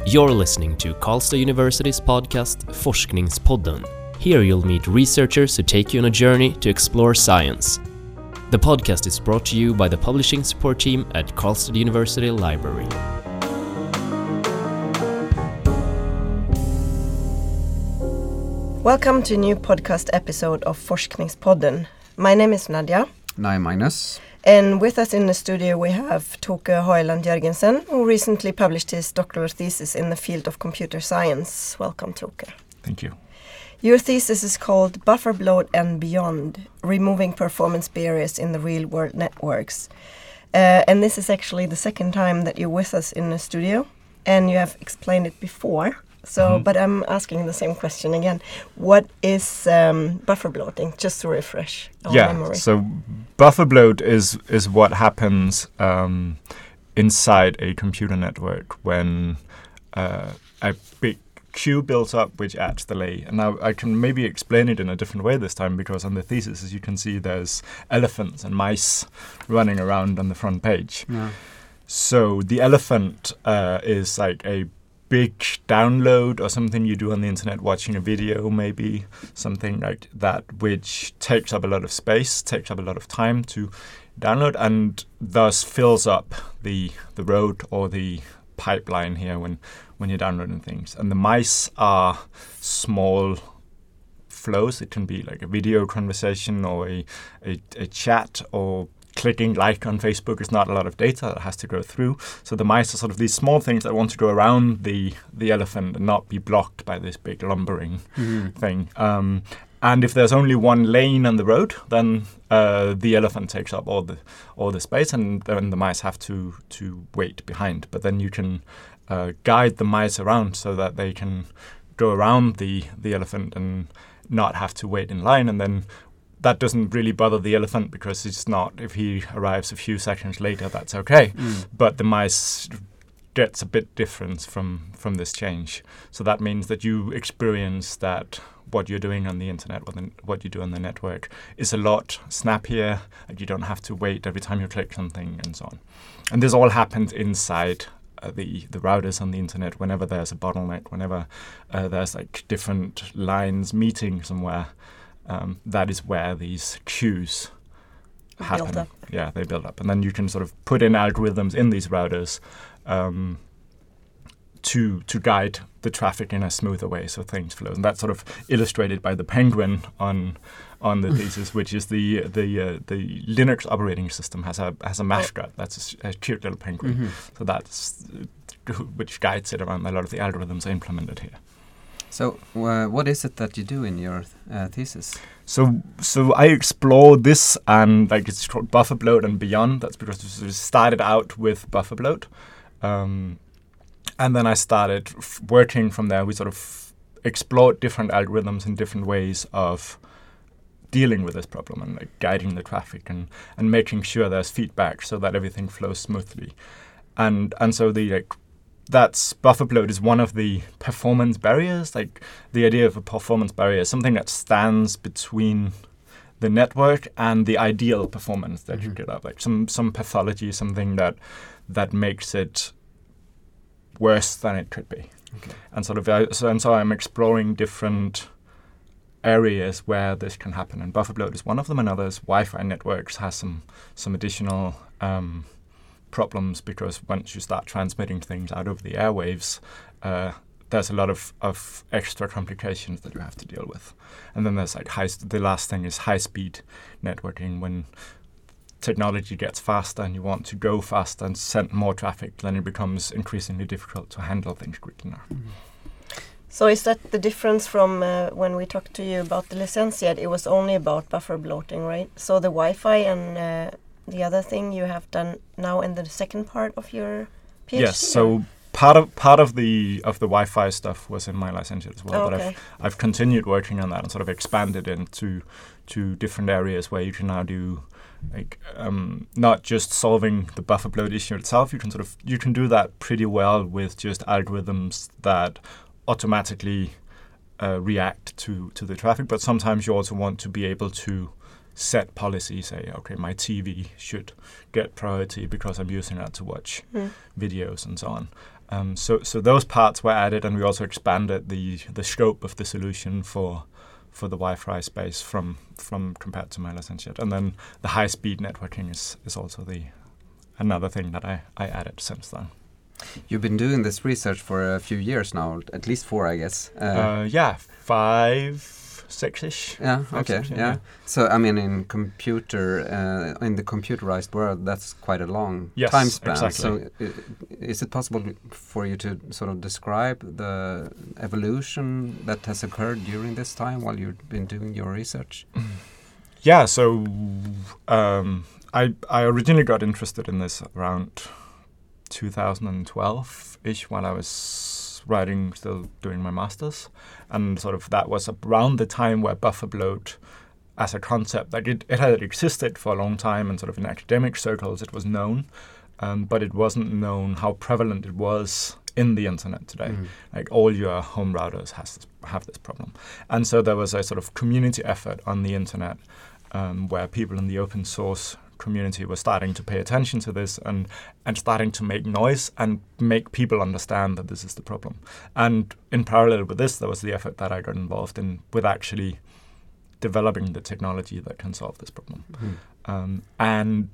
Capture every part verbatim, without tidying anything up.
You're listening to Karlstad University's podcast Forskningspodden. Here you'll meet researchers who take you on a journey to explore science. The podcast is brought to you by the publishing support team at Karlstad University Library. Welcome to a new podcast episode of Forskningspodden. My name is Nadia. And I'm Magnus. And with us in the studio we have Toke Høiland Jørgensen, who recently published his doctoral thesis in the field of computer science. Welcome, Toke. Thank you. Your thesis is called Buffer Bloat and Beyond, Removing Performance Barriers in the Real-World Networks. Uh, and this is actually the second time that you're with us in the studio, and you have explained it before. So, mm-hmm. But I'm asking the same question again. What is um, buffer bloating? Just to refresh our yeah, memory. So buffer bloat is is what happens um, inside a computer network when uh, a big queue builds up, which adds delay. And now I can maybe explain it in a different way this time, because on the thesis, as you can see, there's elephants and mice running around on the front page. Yeah. So the elephant uh, is like a big download or something you do on the internet, watching a video, maybe something like that, which takes up a lot of space, takes up a lot of time to download, and thus fills up the the road or the pipeline here when when you're downloading things. And the mice are small flows. It can be like a video conversation or a a, a chat, or clicking like on Facebook is not a lot of data that has to go through. So the mice are sort of these small things that want to go around the the elephant and not be blocked by this big lumbering mm-hmm. thing. Um, and if there's only one lane on the road, then uh, the elephant takes up all the all the space, and then the mice have to to wait behind. But then you can uh, guide the mice around so that they can go around the the elephant and not have to wait in line. And then that doesn't really bother the elephant, because it's not, if he arrives a few seconds later, that's okay. Mm. But the mice gets a bit different from, from this change. So that means that you experience that what you're doing on the internet, what, the, what you do on the network, is a lot snappier, and you don't have to wait every time you click something and so on. And this all happens inside uh, the, the routers on the internet whenever there's a bottleneck, whenever uh, there's like different lines meeting somewhere. Um, that is where these queues happen. Build up. Yeah, they build up. And then you can sort of put in algorithms in these routers um, to to guide the traffic in a smoother way so things flow. And that's sort of illustrated by the penguin on on the thesis, which is the the uh, the Linux operating system has a has a mascot. That's a, a cute little penguin. Mm-hmm. So that's uh, which guides it around. A lot of the algorithms are implemented here. So, uh, what is it that you do in your uh, thesis? So, so I explore this, and like it's called buffer bloat and beyond. That's because we started out with buffer bloat, um, and then I started f- working from there. We sort of explored different algorithms and different ways of dealing with this problem, and like guiding the traffic and, and making sure there's feedback so that everything flows smoothly. And and so the like. That's buffer bloat is one of the performance barriers. Like the idea of a performance barrier is something that stands between the network and the ideal performance that mm-hmm. you get up. Like some some pathology, something that that makes it worse than it could be. Okay. And sort of uh, so and so I'm exploring different areas where this can happen. And buffer bloat is one of them. And others, Wi-Fi networks has some some additional Um, problems, because once you start transmitting things out over the airwaves, uh, there's a lot of, of extra complications that you have to deal with. And then there's like high. St- the last thing is high-speed networking. When technology gets faster and you want to go faster and send more traffic, then it becomes increasingly difficult to handle things quickly now. Mm-hmm. So is that the difference from uh, when we talked to you about the licentiate? It was only about buffer bloating, right? So the Wi-Fi and uh, the other thing you have done now in the second part of your PhD? Yes, so part of part of the of the Wi-Fi stuff was in my licentiate as well, oh, but okay. I've I've continued working on that and sort of expanded into to different areas where you can now do like um, not just solving the buffer bloat issue itself. You can sort of you can do that pretty well with just algorithms that automatically uh, react to to the traffic, but sometimes you also want to be able to set policy, say, okay, my T V should get priority because I'm using that to watch mm. videos and so on. Um, so so those parts were added, and we also expanded the the scope of the solution for for the Wi-Fi space from from compared to my licentiate. And then the high-speed networking is, is also the another thing that I, I added since then. You've been doing this research for a few years now, at least four, I guess. Uh, Uh, yeah, five, six-ish. yeah, Five, okay, six, yeah. yeah. So, I mean, in computer, uh, in the computerized world, that's quite a long Yes, time span. exactly. So, i- is it possible for you to sort of describe the evolution that has occurred during this time while you've been doing your research? Yeah, so um, I I originally got interested in this around two thousand twelve-ish when I was writing, still doing my master's, and sort of that was around the time where buffer bloat as a concept, like it, it had existed for a long time, and sort of in academic circles it was known, um, but it wasn't known how prevalent it was in the internet today. Mm. Like all your home routers has this, have this problem. And so there was a sort of community effort on the internet um, where people in the open source community were starting to pay attention to this and, and starting to make noise and make people understand that this is the problem. And in parallel with this, there was the effort that I got involved in with actually developing the technology that can solve this problem. Mm. Um, and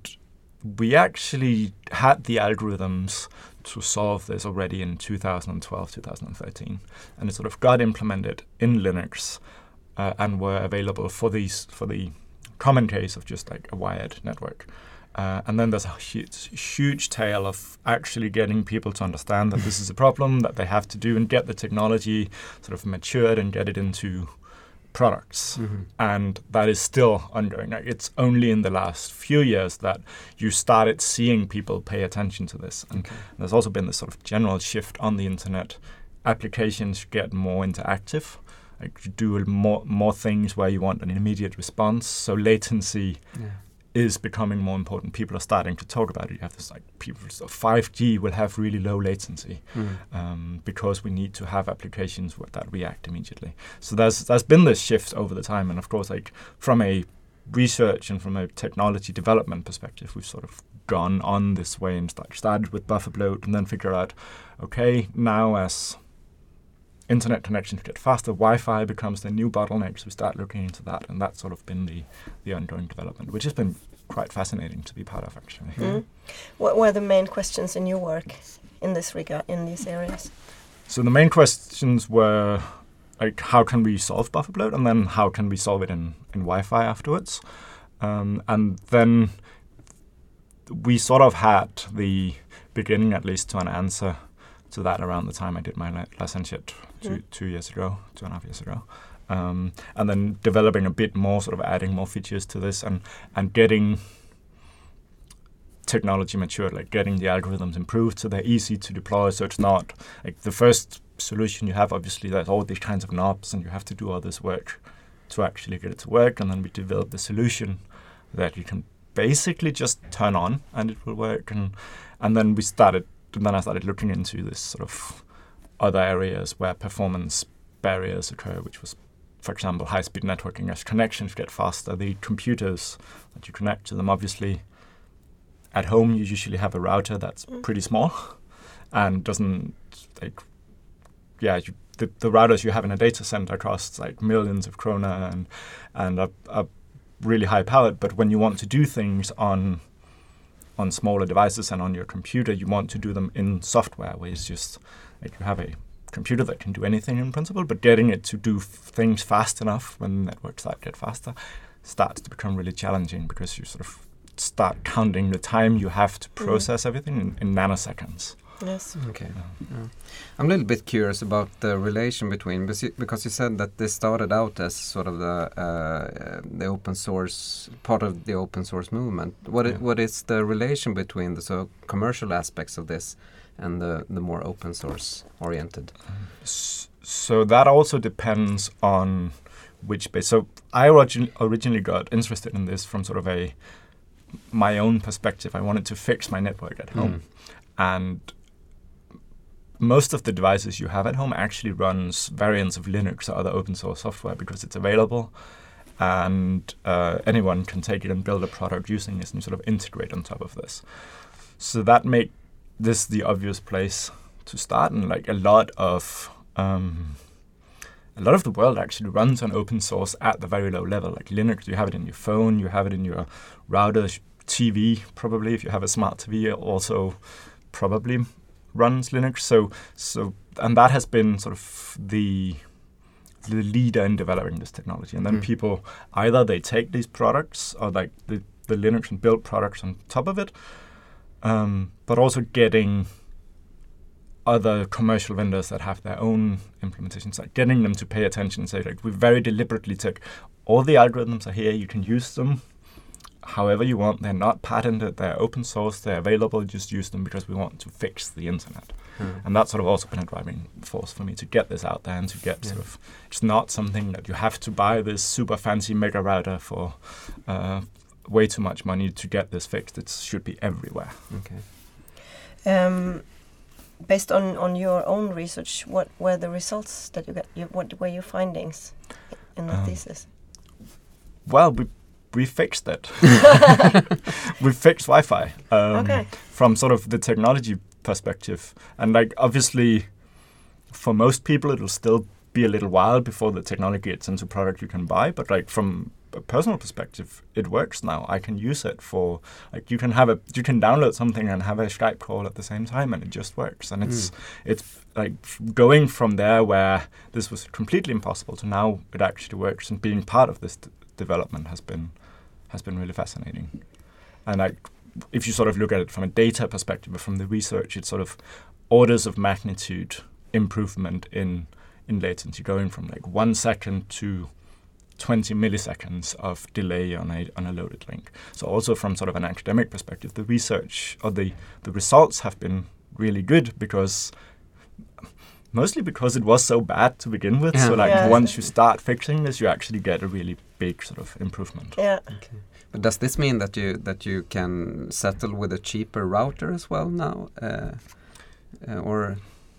we actually had the algorithms to solve this already in two thousand twelve, two thousand thirteen, and it sort of got implemented in Linux uh, and were available for these for the common case of just like a wired network. Uh, and then there's a huge, huge tail of actually getting people to understand that this is a problem that they have to do and get the technology sort of matured and get it into products. Mm-hmm. And that is still ongoing. Like, it's only in the last few years that you started seeing people pay attention to this. And Okay. there's also been this sort of general shift on the internet. Applications get more interactive. Like you do more more things where you want an immediate response. So latency Yeah. is becoming more important. People are starting to talk about it. You have this like people. So five G will have really low latency Mm. um, because we need to have applications with that react immediately. So there's there's been this shift over the time, and of course, like from a research and from a technology development perspective, we've sort of gone on this way and start, started with buffer bloat, and then figure out, okay, now as internet connections get faster, Wi-Fi becomes the new bottleneck, so we start looking into that, and that's sort of been the, the ongoing development, which has been quite fascinating to be part of, actually. Mm. What were the main questions in your work in this regard, in these areas? So the main questions were, like, how can we solve buffer bloat, and then how can we solve it in, in Wi-Fi afterwards? Um, and then we sort of had the beginning, at least, to an answer to that around the time I did my li- licentiate two, Mm. two years ago, two and a half years ago. Um, and then developing a bit more, sort of adding more features to this and, and getting technology matured, like getting the algorithms improved so they're easy to deploy. So it's not like the first solution you have, obviously, there's all these kinds of knobs and you have to do all this work to actually get it to work. And then we developed the solution that you can basically just turn on and it will work. And and then we started, and then I started looking into this sort of other areas where performance barriers occur, which was, for example, high-speed networking. As connections get faster, the computers that you connect to them, obviously, at home you usually have a router that's Mm. pretty small and doesn't, like, yeah, you, the, the routers you have in a data center costs like millions of krona and and are, are really high powered. But when you want to do things on on smaller devices and on your computer, you want to do them in software, where it's just like you have a computer that can do anything in principle, but getting it to do f- things fast enough when networks start get faster starts to become really challenging, because you sort of start counting the time you have to process mm. everything in, in nanoseconds. Yes. Okay. Yeah. I'm a little bit curious about the relation between, because you said that this started out as sort of the uh, the open source, part of the open source movement. What yeah. I, what is the relation between the so commercial aspects of this and the, the more open source oriented? So that also depends on which base. So I origin- originally got interested in this from sort of a my own perspective. I wanted to fix my network at home. Mm. And most of the devices you have at home actually runs variants of Linux or other open source software because it's available, and uh, anyone can take it and build a product using this and sort of integrate on top of this. So that made this the obvious place to start, and like a lot of um, a lot of the world actually runs on open source at the very low level. Like Linux, you have it in your phone, you have it in your router, T V probably. If you have a smart T V, it also probably runs Linux. So so and that has been sort of the the leader in developing this technology. And then Mm. people either they take these products or like the the Linux and build products on top of it, um, but also getting other commercial vendors that have their own implementations, like getting them to pay attention and say, like, we very deliberately took all the algorithms are here, you can use them however you want, they're not patented, they're open source, they're available, just use them because we want to fix the internet. Mm. And that's sort of also been a driving force for me to get this out there and to get Yeah. sort of, it's not something that you have to buy this super fancy mega router for uh, way too much money to get this fixed. It should be everywhere. Okay. Um, based on, on your own research, what were the results that you got? You, what were your findings in the Um, thesis? Well, we we fixed it. We fixed Wi-Fi um, Okay. from sort of the technology perspective, and like obviously, for most people, it'll still be a little while before the technology gets into product you can buy. But like from a personal perspective, it works now. I can use it for like you can have a you can download something and have a Skype call at the same time, and it just works. And it's Mm. it's like f- going from there where this was completely impossible to now it actually works, and being part of this d- development has been has been really fascinating. And like if you sort of look at it from a data perspective, or from the research, it's sort of orders of magnitude improvement in in latency, going from like one second to twenty milliseconds of delay on a on a loaded link. So also from sort of an academic perspective, the research or the, the results have been really good because mostly because it was so bad to begin with. Yeah. So like Yeah. once you start fixing this, you actually get a really big sort of improvement. Yeah. Okay. But does this mean that you that you can settle with a cheaper router as well now, uh, uh, or?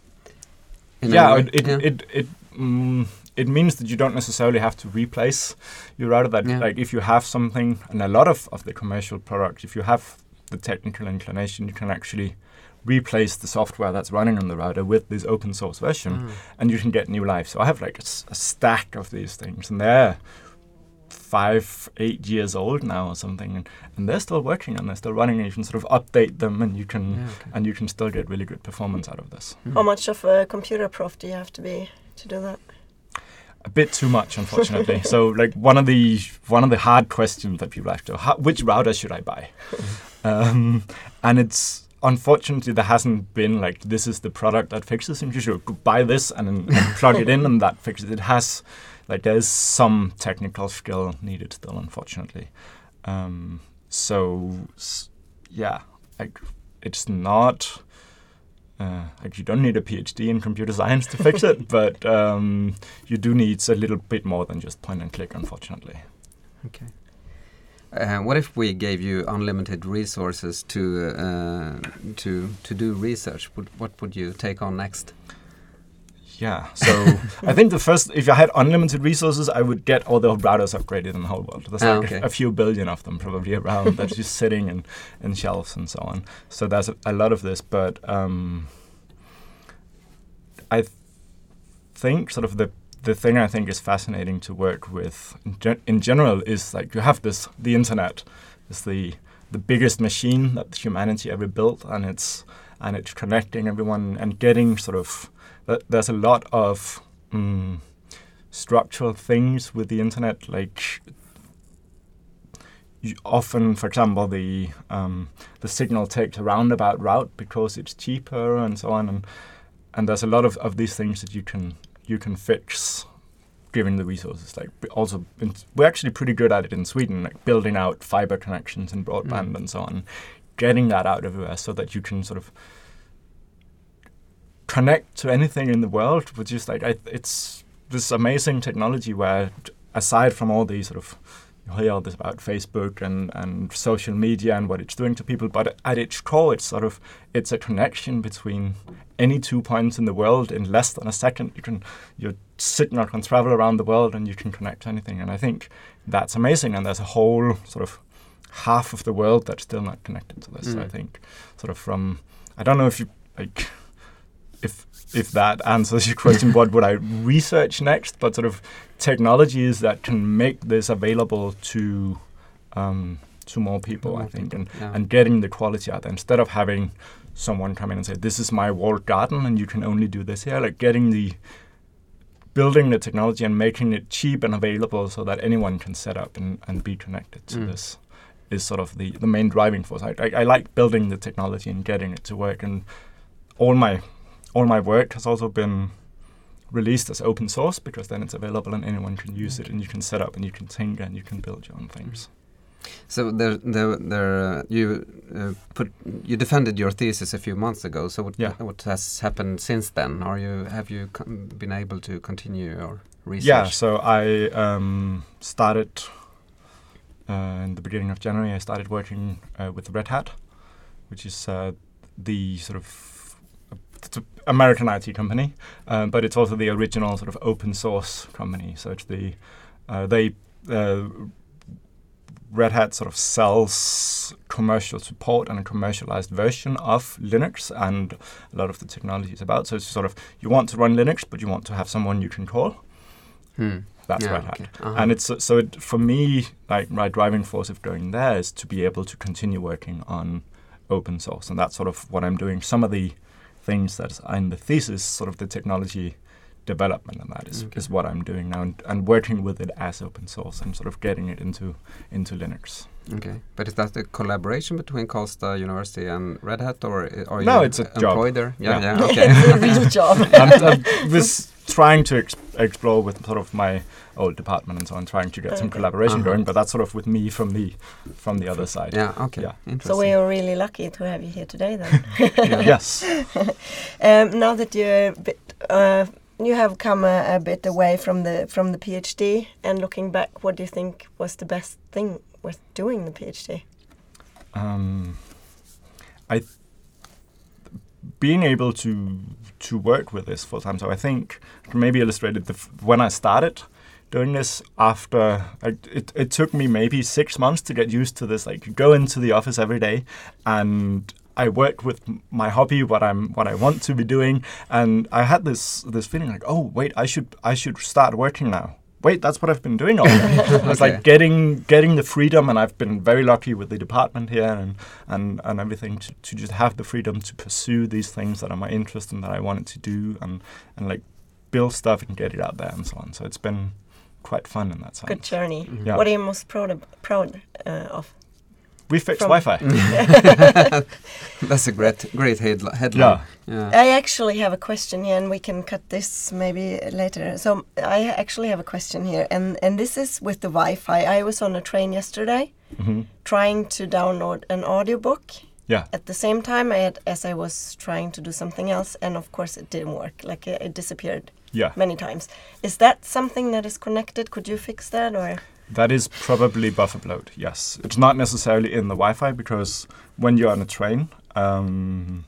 in any Yeah, way? it it Yeah. it it, mm, it means that you don't necessarily have to replace your router. That Yeah. like if you have something, and a lot of, of the commercial products, if you have the technical inclination, you can actually replace the software that's running on the router with this open source version, Ah. and you can get new life. So I have like a, s- a stack of these things, and they're five, eight years old now or something, and, and they're still working and they're still running, and you can sort of update them, and you can Yeah, okay. and you can still get really good performance out of this. Mm. How much of a computer prof do you have to be to do that? A bit too much, unfortunately. So, like one of the one of the hard questions that people ask, how, which router should I buy? um, and it's unfortunately there hasn't been like this is the product that fixes it. You should go buy this and then and plug it in, and that fixes it. It has like there's some technical skill needed still, unfortunately. Um, so s- yeah, like it's not. Uh, like you don't need a PhD in computer science to fix it, but um, you do need a little bit more than just point and click, unfortunately. Okay. Uh, what if we gave you unlimited resources to uh, to to do research? Would, what would you take on next? Yeah, so I think the first, if I had unlimited resources, I would get all the routers upgraded in the whole world. There's Ah, like okay. a, a few billion of them probably around that's just sitting in, in shelves and so on. So there's a, a lot of this, but um, I th- think sort of the the thing I think is fascinating to work with in, gen- in general is like you have this, the internet is the the biggest machine that humanity ever built, and it's and it's connecting everyone and getting sort of th- there's a lot of um, structural things with the internet, like you often, for example, the um, the signal takes a roundabout route because it's cheaper and so on, and and there's a lot of, of these things that you can you can fix given the resources. Like b- also, in, we're actually pretty good at it in Sweden, like building out fiber connections and broadband Mm. and so on, getting that out everywhere so that you can sort of connect to anything in the world with just like I, it's this amazing technology where, aside from all these sort of you hear all this about Facebook and, and social media and what it's doing to people, but at its core, it's sort of it's a connection between any two points in the world in less than a second. You can your signal can travel around the world and you can connect to anything. And I think that's amazing. And there's a whole sort of half of the world that's still not connected to this. Mm. I think sort of from I don't know if you like if if that answers your question, what would I research next? But sort of technologies that can make this available to um, to more people, more I think, people. and yeah. and getting the quality out there instead of having someone come in and say, this is my walled garden and you can only do this here. Like getting the building the technology and making it cheap and available so that anyone can set up and, and be connected to mm. this is sort of the, the main driving force. I, I, I like building the technology and getting it to work, and all my all my work has also been released as open source because then it's available and anyone can use it and you can set up and you can tinker and you can build your own things. So there, there, there. Uh, you uh, put you defended your thesis a few months ago. So what, yeah. what has happened since then? Are you have you com- been able to continue your research? Yeah. So I um, started uh, in the beginning of January. I started working uh, with Red Hat, which is uh, the sort of it's an American I T company, um, but it's also the original sort of open source company. So it's the uh, they. Uh, Red Hat sort of sells commercial support and a commercialized version of Linux and a lot of the technology is about. So it's sort of, you want to run Linux, but you want to have someone you can call. Hmm. That's yeah, Red okay. Hat. Uh-huh. And it's so it, for me, like my driving force of going there is to be able to continue working on open source. And that's sort of what I'm doing. Some of the things that are in the thesis, sort of the technology development, and that is, okay. is what I'm doing now, and, and working with it as open source and sort of getting it into into Linux. Okay, but is that a collaboration between Karlstad University and Red Hat, or are you no, it's a employed job. there? Yeah, yeah, yeah, okay. It's a real job. I'm, I was trying to ex- explore with sort of my old department and so on, trying to get okay. some collaboration uh-huh. going, but that's sort of with me from the from the other side. Yeah, okay. Yeah. Interesting. So we are really lucky to have you here today then. Yes. um, now that you're a bit, uh, you have come a, a bit away from the from the PhD, and looking back, what do you think was the best thing with doing the PhD? Um, I th- being able to to work with this full time. So I think maybe illustrated the f- when I started doing this. After like, it, it took me maybe six months to get used to this. Like, you go into the office every day, and I work with my hobby, what I'm, what I want to be doing, and I had this this feeling like, oh wait, I should I should start working now. Wait, that's what I've been doing all day. It's okay. like getting getting the freedom, and I've been very lucky with the department here and and, and everything to, to just have the freedom to pursue these things that are my interest and that I wanted to do, and and like build stuff and get it out there and so on. So it's been quite fun in that sense. Good journey. Mm-hmm. Yeah. What are you most proud of, proud uh, of? We fixed From Wi-Fi. That's a great great headli- headline. Yeah. Yeah. I actually have a question here, and we can cut this maybe later. So I actually have a question here, and, and this is with the Wi-Fi. I was on a train yesterday, Mm-hmm. trying to download an audiobook. Yeah. At the same time I had, as I was trying to do something else, and of course it didn't work. Like it, it disappeared Yeah. many times. Is that something that is connected? Could you fix that, or? That is probably buffer bloat, yes. It's not necessarily in the Wi-Fi, because when you're on a train, um,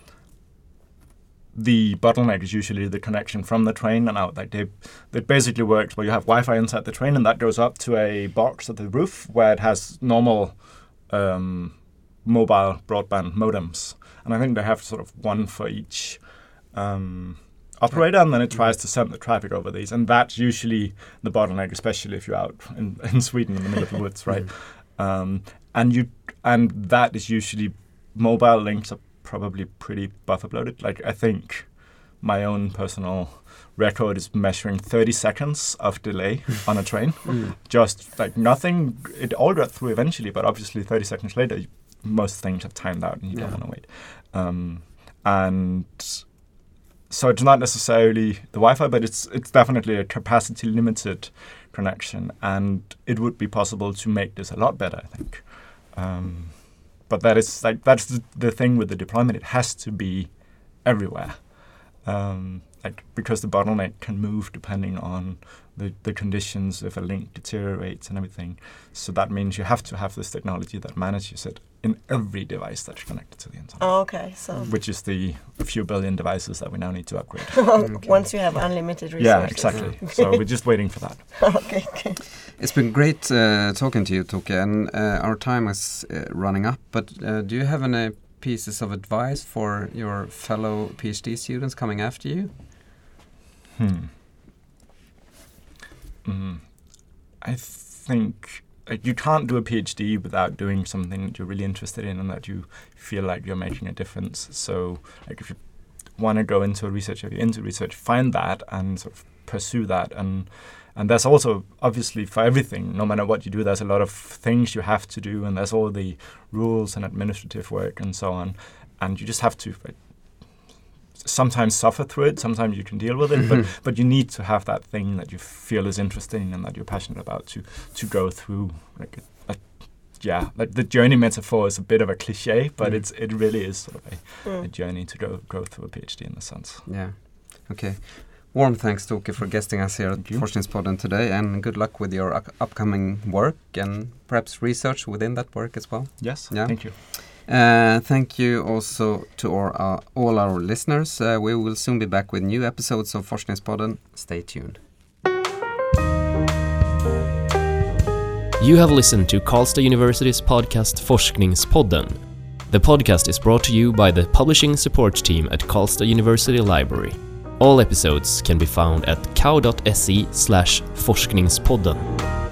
the bottleneck is usually the connection from the train and out. Like they, it basically works where you have Wi-Fi inside the train, and that goes up to a box at the roof where it has normal um, mobile broadband modems. And I think they have sort of one for each um, operator, and then it tries to send the traffic over these, and that's usually the bottleneck, especially if you're out in, in Sweden in the middle of the woods, right? Mm. Um, and you and that is usually mobile links are probably pretty buffer bloated. Like I think my own personal record is measuring thirty seconds of delay on a train, Mm. just like nothing. It all got through eventually, but obviously thirty seconds later, most things have timed out, and you Yeah. don't want to wait. Um, and So it's not necessarily the Wi-Fi, but it's it's definitely a capacity limited connection, and it would be possible to make this a lot better, I think. Um, but that is like that's the, the thing with the deployment; it has to be everywhere, um, like because the bottleneck can move depending on the, the conditions if a link deteriorates and everything. So that means you have to have this technology that manages it in every device that's connected to the internet. Oh, okay, so Which is the a few billion devices that we now need to upgrade. Okay. once you have unlimited resources. Yeah, exactly. So we're just waiting for that. okay, okay. It's been great uh, talking to you, Toke, and uh, our time is uh, running up. But uh, do you have any pieces of advice for your fellow PhD students coming after you? Hmm. Mm. I think like you can't do a PhD without doing something that you're really interested in and that you feel like you're making a difference. So, like if you want to go into research, if you're into research, find that and sort of pursue that. And and there's also obviously for everything, no matter what you do, there's a lot of things you have to do, and there's all the rules and administrative work and so on. And you just have to like, sometimes suffer through it, sometimes you can deal with it, but but you need to have that thing that you feel is interesting and that you're passionate about to to go through. Like a, a, yeah, like the journey metaphor is a bit of a cliche, but mm. it's it really is sort of a, mm. a journey to go go through a PhD in a sense. Yeah. Okay. Warm thanks, Toke, for guesting us here at Forskningspodden today, and good luck with your u- upcoming work and perhaps research within that work as well. Yes. Yeah. Thank you. Uh, thank you also to our, uh, all our listeners. Uh, we will soon be back with new episodes of Forskningspodden. Stay tuned. You have listened to Karlstad University's podcast Forskningspodden. The podcast is brought to you by the publishing support team at Karlstad University Library. All episodes can be found at k a u dot s e slash forskningspodden.